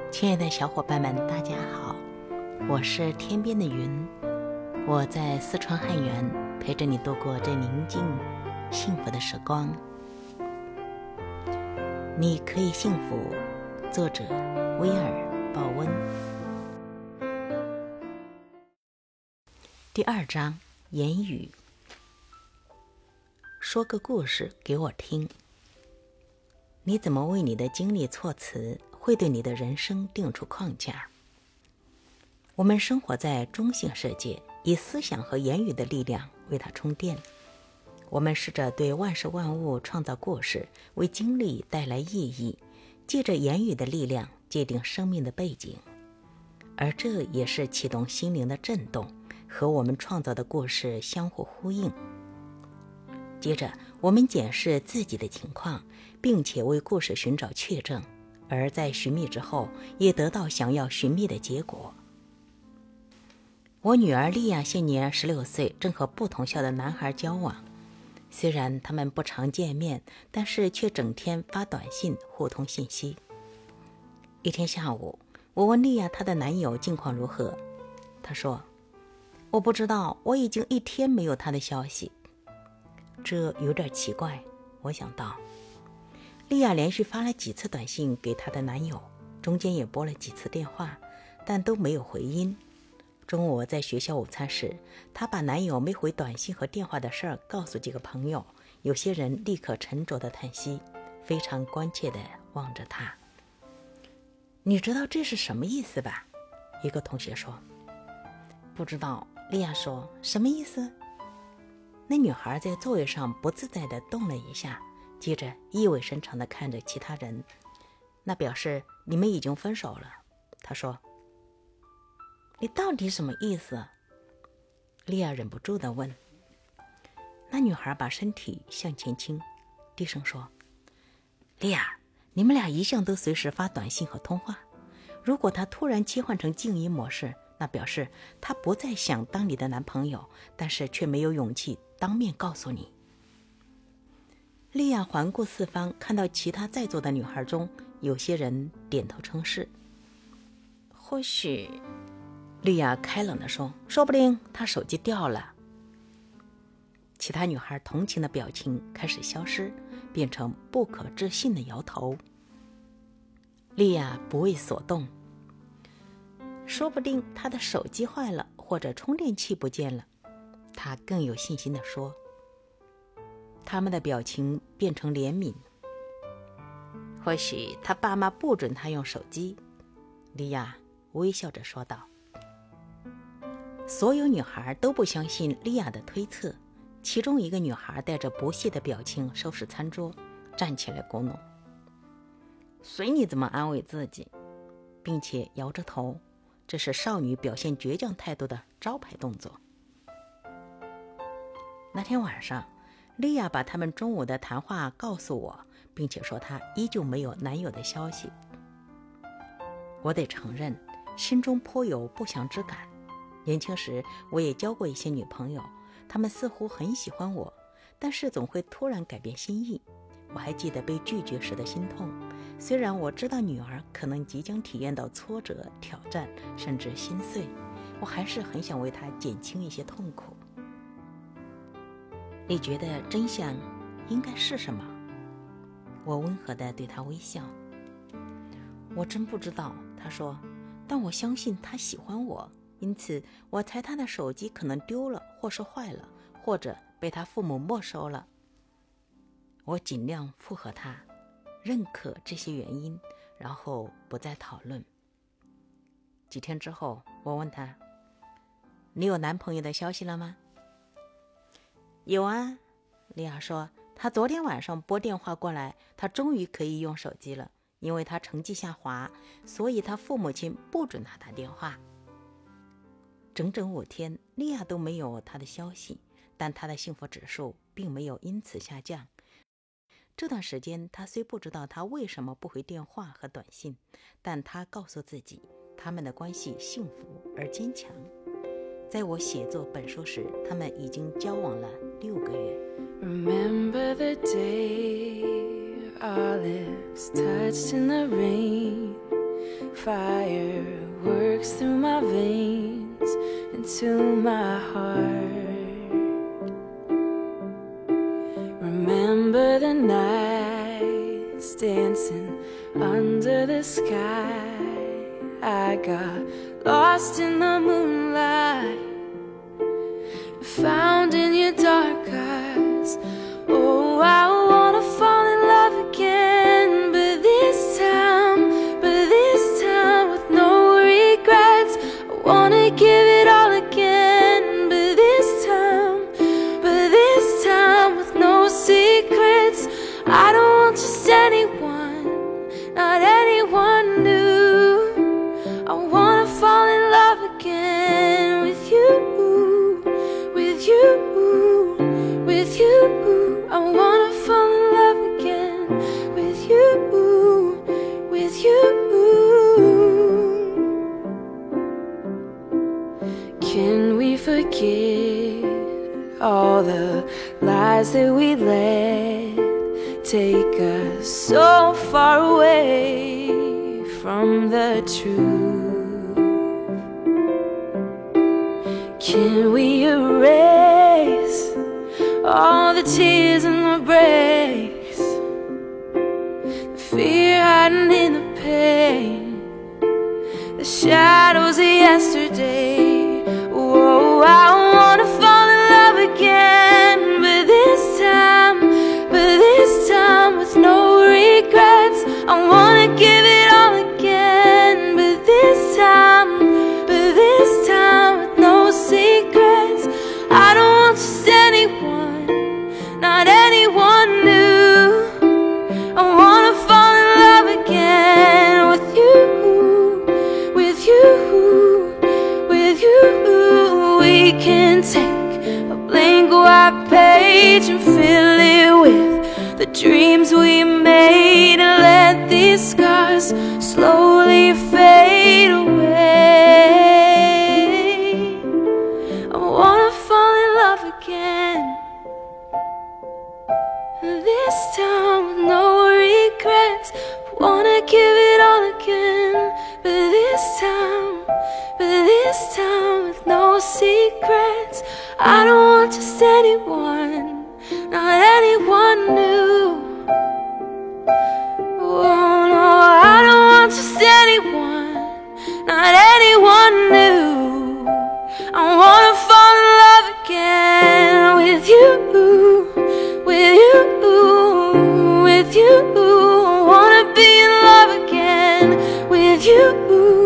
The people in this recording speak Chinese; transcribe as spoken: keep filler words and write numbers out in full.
亲爱的小伙伴们，大家好，我是天边的云，我在四川汉源陪着你度过这宁静幸福的时光。你可以幸福，作者威尔鲍温。第二章，言语。说个故事给我听。你怎么为你的经历措辞，会对你的人生定出框架。我们生活在中性世界，以思想和言语的力量为它充电。我们试着对万事万物创造故事，为经历带来意义，借着言语的力量界定生命的背景。而这也是启动心灵的震动，和我们创造的故事相互呼应。接着我们检视自己的情况，并且为故事寻找确证，而在寻觅之后也得到想要寻觅的结果。我女儿莉亚现年十六岁，正和不同校的男孩交往。虽然他们不常见面，但是却整天发短信互通信息。一天下午，我问莉亚她的男友近况如何，她说：我不知道，我已经一天没有他的消息。这有点奇怪，我想到。莉亚连续发了几次短信给她的男友，中间也拨了几次电话，但都没有回音。中午在学校午餐时，她把男友没回短信和电话的事儿告诉几个朋友，有些人立刻沉着地叹息，非常关切地望着她。你知道这是什么意思吧？一个同学说。不知道，莉亚说，什么意思？那女孩在座位上不自在地动了一下，接着意味深长地看着其他人。那表示你们已经分手了。她说。你到底什么意思？莉亚忍不住地问。那女孩把身体向前倾，低声说，莉亚，你们俩一向都随时发短信和通话，如果他突然切换成静音模式，那表示他不再想当你的男朋友，但是却没有勇气当面告诉你。莉亚环顾四方，看到其他在座的女孩中，有些人点头称是。或许，莉亚开朗地说，说不定她手机掉了。其他女孩同情的表情开始消失，变成不可置信的摇头。莉亚不为所动。说不定她的手机坏了，或者充电器不见了。她更有信心地说。他们的表情变成怜悯。或许他爸妈不准他用手机，莉亚微笑着说道。所有女孩都不相信莉亚的推测，其中一个女孩带着不屑的表情收拾餐桌，站起来咕哝，随你怎么安慰自己，并且摇着头，这是少女表现倔强态度的招牌动作。那天晚上，莉亚把他们中午的谈话告诉我，并且说她依旧没有男友的消息。我得承认，心中颇有不祥之感。年轻时我也交过一些女朋友，她们似乎很喜欢我，但是总会突然改变心意。我还记得被拒绝时的心痛，虽然我知道女儿可能即将体验到挫折、挑战，甚至心碎，我还是很想为她减轻一些痛苦。你觉得真相应该是什么？我温和地对她微笑。我真不知道，她说，但我相信她喜欢我，因此我猜她的手机可能丢了，或是坏了，或者被她父母没收了。我尽量附和她，认可这些原因，然后不再讨论。几天之后，我问她，你有男朋友的消息了吗？有啊，莉亚说，她昨天晚上拨电话过来，她终于可以用手机了，因为她成绩下滑，所以她父母亲不准她打电话。整整五天，莉亚都没有她的消息，但她的幸福指数并没有因此下降。这段时间，她虽不知道她为什么不回电话和短信，但她告诉自己，他们的关系幸福而坚强。在我写作本书时，他们已经交往了六个月。Remember the day our lips touched in the rain, Fire works through my veins into my heart. Remember the nights dancing under the sky. I got lost in the moonlight, found in your dark eyes. Oh, I wanna fall in love again, but this time, but this time with no regrets. I wanna give it all again, but this time, but this time with no secrets. I don't want just anyone, not anyone new. I wanna fall in love again with you, with you, with you. I wanna fall in love again with you, with you. Can we forget all the lies that we let take us so far away from the truth? Can we erase all the tears and the breaks, the fear hiding in the pain, the shadows of yesterday? Whoa, I wanna fall in love again, but this time, but this time with no regrets. I wanna give it all again, but this time, but this time with no secrets. I don't want just anyone, not anyone new. I wanna fall in love again with you, with you, with you. We can take a blank white page and fill it with the dreams we made, and let these scars slowly fade away. I wanna fall in love again, this time with no regrets. Wanna give it all again, but this time, but this time with no secrets. I don't want just anyone, not anyone new. Oh no, I don't want just anyone, not anyone new. I wanna fall in love again with you, with you, with you. I wanna be in love again with you.